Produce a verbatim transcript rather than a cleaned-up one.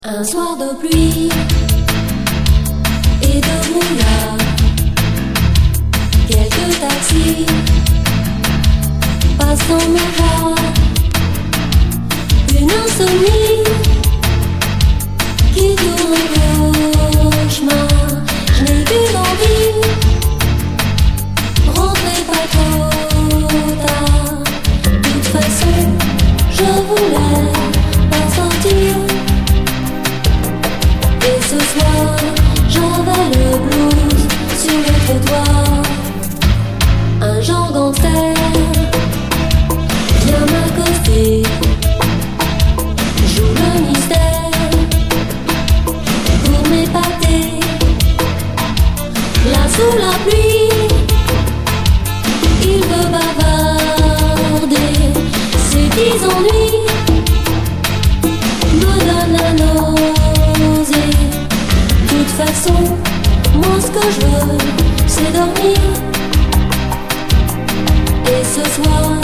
Un soir de pluie et de brouillard, quelques taxis passent dans mes bras. Une insomnie qui tourne au cauchemar. Je n'ai qu'une envie, rentrer pas trop tard. De toute façon, je voulais pas sortir. Et ce soir, j'avais le blues sur le trottoir. Un genre gangster vient m'accoster, joue le mystère pour m'épater. Là sous la pluie, il veut bavarder. Ses dix ennuis me donnent la nausée. De toute façon, moi ce que je veux, c'est dormir. Et ce soir,